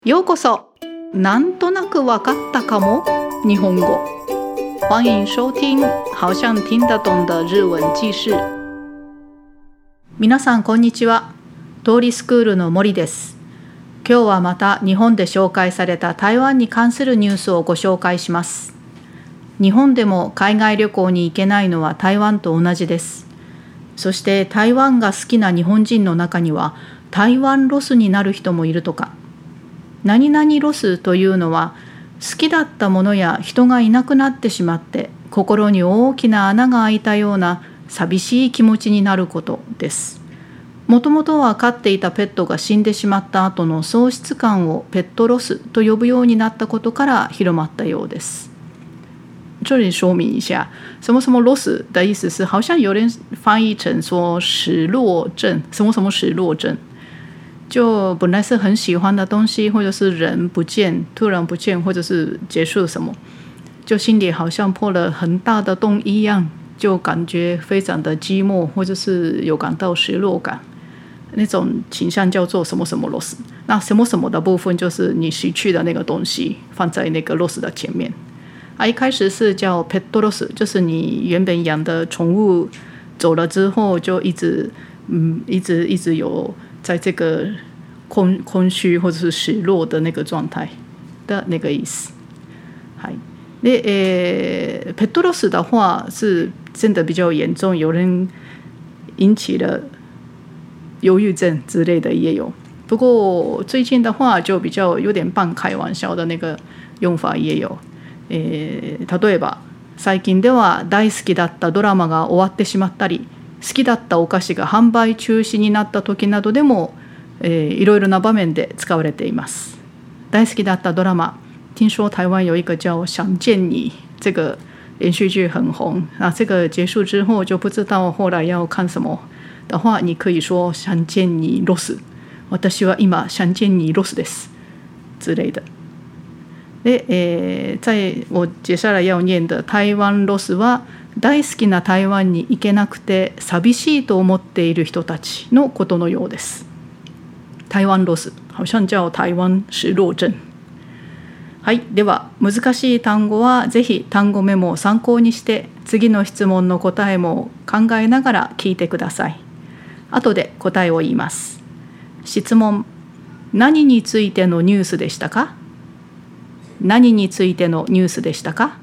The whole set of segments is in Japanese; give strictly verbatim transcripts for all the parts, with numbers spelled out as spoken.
ようこそ。なんとなくわかったかも日本語。欢迎收听好像听得懂的日文記事。皆さんこんにちは。通りスクールの森です。今日はまた日本で紹介された台湾に関するニュースをご紹介します。日本でも海外旅行に行けないのは台湾と同じです。そして台湾が好きな日本人の中には台湾ロスになる人もいるとか。何々ロスというのは好きだったものや人がいなくなってしまって心に大きな穴が開いたような寂しい気持ちになることです。もともとは飼っていたペットが死んでしまった後の喪失感をペットロスと呼ぶようになったことから広まったようです。这里说明一下，什么什么 loss 的意思是好像有人翻译成说失落症，什么什么失落症。就本来是很喜欢的东西，或者是人不见，突然不见，或者是结束什么，就心里好像破了很大的洞一样，就感觉非常的寂寞，或者是有感到失落感，那种倾向叫做什么什么 loss。那什么什么的部分就是你失去的那个东西放在那个 loss 的前面。啊，一开始是叫 pet loss， 就是你原本养的宠物走了之后，就一直嗯一直一直有。在这个 空, 空虚或者是失落的那个状态的那个意思。はい。で、えー、ペットロス的话是真的比较严重，有人引起了忧郁症之类的也有。不过最近的话就比较有点半开玩笑的那个用法也有。えー、例えば最近では大好きだったドラマが終わってしまったり。好きだったお菓子が販売中止になった時などでも、えー、いろいろな場面で使われています。大好きだったドラマ，听说台湾有一个叫《想见你》，这个连续剧很红。那这个结束之后就不知道后来要看什么的话，你可以说想见你ロス。私は今想见你ロスです之类的。で、えー、在我接下来要念的台湾ロスは。大好きな台湾に行けなくて寂しいと思っている人たちのことのようです。台湾ロス、好像叫台湾失落症。はい、では難しい単語はぜひ単語メモを参考にして次の質問の答えも考えながら聞いてください。後で答えを言います。質問、何についてのニュースでしたか？何についてのニュースでしたか？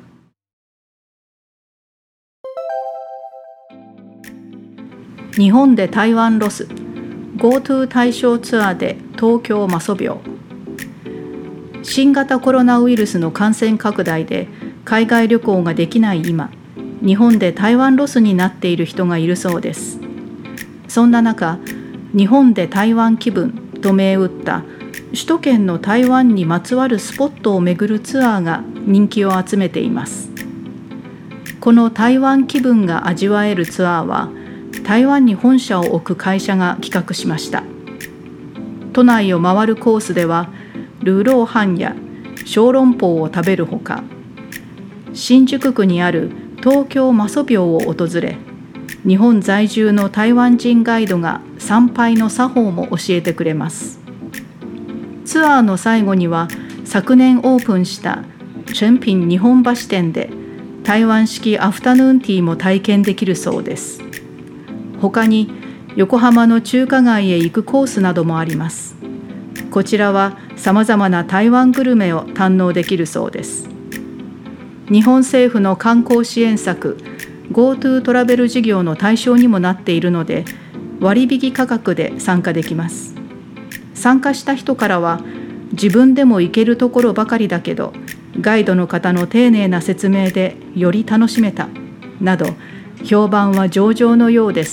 日本で台湾ロス GoTo 対象ツアーで東京媽祖廟。新型コロナウイルスの感染拡大で海外旅行ができない今、日本で台湾ロスになっている人がいるそうです。そんな中、日本で台湾気分と銘打った首都圏の台湾にまつわるスポットを巡るツアーが人気を集めています。この台湾気分が味わえるツアーは台湾に本社を置く会社が企画しました。都内を回るコースではルーローハンや小籠包を食べるほか、新宿区にある東京媽祖廟を訪れ、日本在住の台湾人ガイドが参拝の作法も教えてくれます。ツアーの最後には昨年オープンした誠品日本橋店で台湾式アフタヌーンティーも体験できるそうです。他に横浜の中華街へ行くコースなどもあります。こちらはさまざまな台湾グルメを堪能できるそうです。日本政府の観光支援策 GoTo トラベル事業の対象にもなっているので割引価格で参加できます。参加した人からは自分でも行けるところばかりだけどガイドの方の丁寧な説明でより楽しめたなど評判は上々のようです。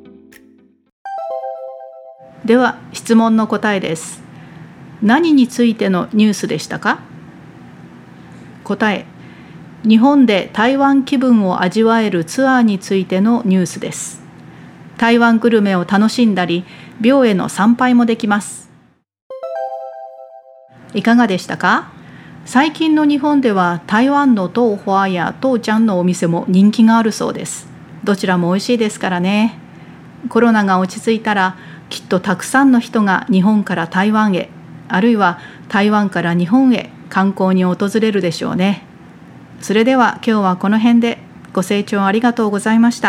では質問の答えです。何についてのニュースでしたか？答え、日本で台湾気分を味わえるツアーについてのニュースです。台湾グルメを楽しんだり、廟への参拝もできます。いかがでしたか？最近の日本では台湾の豆花や豆漿のお店も人気があるそうです。どちらも美味しいですからね。コロナが落ち着いたらきっとたくさんの人が日本から台湾へ、あるいは台湾から日本へ観光に訪れるでしょうね。それでは今日はこの辺で。ご清聴ありがとうございました。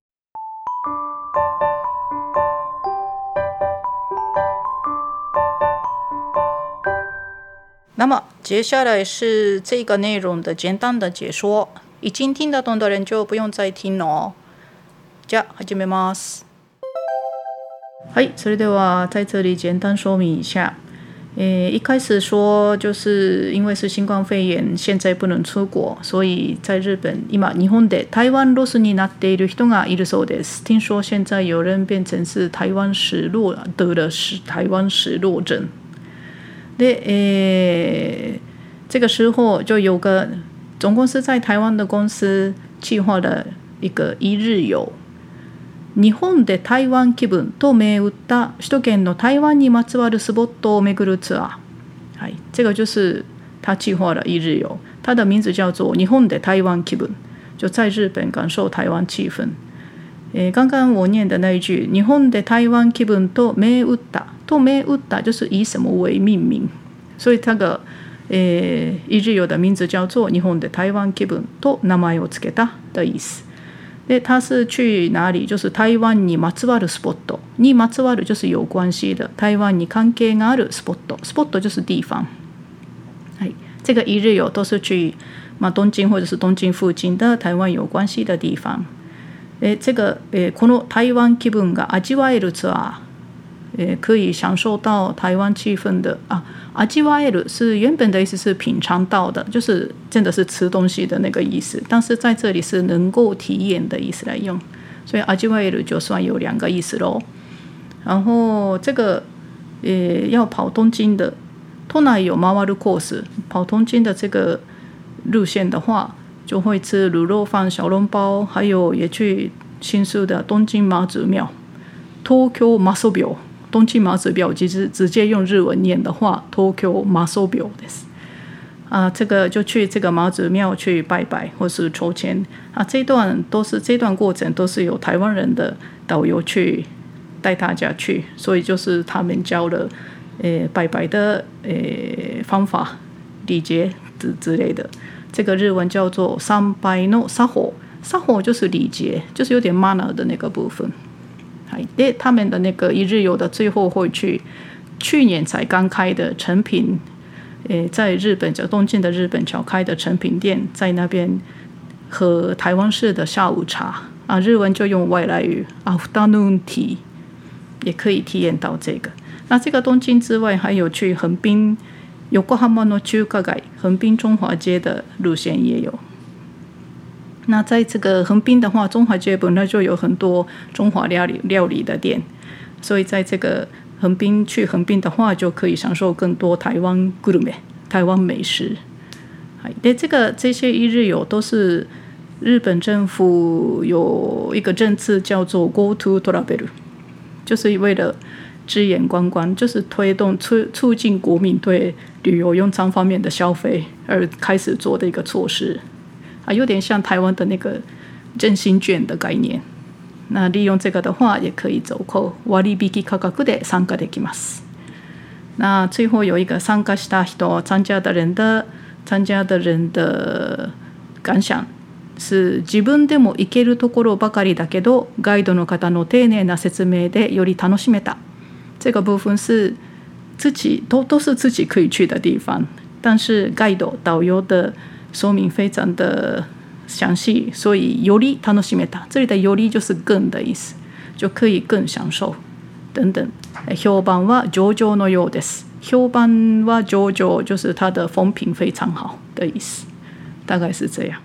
那么接下来是这个内容的简单的解说，已经听得懂的人就不用再听了哦。じゃあ始めます。はい、それでは在这里简单说明一下。诶，一开始说就是因为是新冠肺炎，现在不能出国，所以在日本今日本で台湾ロスになっている人がいるそうです。听说现在有人变成是台湾失落，得了台湾失落症。で，诶，这个时候就有个总公司在台湾的公司计划了一个一日游。日本で台湾気分と銘打った首都圏の台湾にまつわるスポットを巡るツアー。はい、这个就是他计划了一日游，它的名字叫做日本で台湾気分，就在日本感受台湾气氛。诶，刚刚我念的那一句日本で台湾気分と銘打ったと銘打った就是以什么为命名，所以那个诶一日游的名字叫做日本で台湾気分と名前をつけた的意思。で他是去哪里？就是台湾にまつわるスポット，にまつわる就是有关系的，台湾に関係があるスポット，スポット就是地方。はい，这个一日游都是去まあ东京或者是东京附近的台湾有关系的地方。え这个えこの台湾気分が味わえるツアー。可以享受到台湾气氛的啊，味わえる是原本的意思是品尝到的，就是真的是吃东西的那个意思，但是在这里是能够体验的意思来用，所以味わえる就算有两个意思咯。然后这个呃要跑东京的，都内有回るコース，跑东京的这个路线的话，就会吃卤肉饭、小笼包，还有也去新宿的东京妈祖庙，東京妈祖廟。东京妈祖庙其实直接用日文念的话 Tokyo 妈祖廟です啊，这个就去这个妈祖庙去拜拜或是抽签啊，这段都是这段过程都是由台湾人的导游去带大家去，所以就是他们教了呃拜拜的呃方法礼节之之类的，这个日文叫做参拜の作法，作法就是礼节，就是有点 manner 的那个部分。で他们的那个一日游的最后会去去年才刚开的成品，诶，在日本叫东京的日本桥开的成品店，在那边喝台湾式的下午茶啊，日文就用外来语 afternoon tea， 也可以体验到这个。那这个东京之外，还有去横滨横浜の中華街，横滨中华街的路线也有。那在这个横滨的话，中华街本来就有很多中华料理料理的店，所以在这个横滨去横滨的话，就可以享受更多台湾グルメ、台湾美食。对，这个这些一日游都是日本政府有一个政策叫做 Go to Travel， 就是为了支援观光，就是推动促促进国民对旅游用餐方面的消费而开始做的一个措施。啊，有点像台湾的那个振兴券的概念。那利用这个的话，也可以折扣割引価格で参加できます。那最后有一个参加した人、参加的人的参加的人的感想是自分でも行けるところばかりだけど、ガイドの方の丁寧な説明でより楽しめた。这个部分是自己都都是自己可以去的地方，但是ガイド导游的说明非常的详细，所以より楽しめた。这里的より就是更的意思，就可以更享受等等。評判は上々のようです。評判は上々就是它的风评非常好的意思，大概是这样。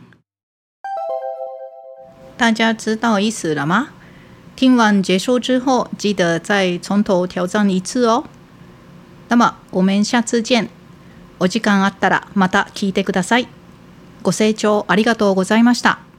大家知道意思了吗？听完结束之后，记得再从头挑战一次哦。那么我们下次见。お時間あったらまた聞いてください。ご清聴ありがとうございました。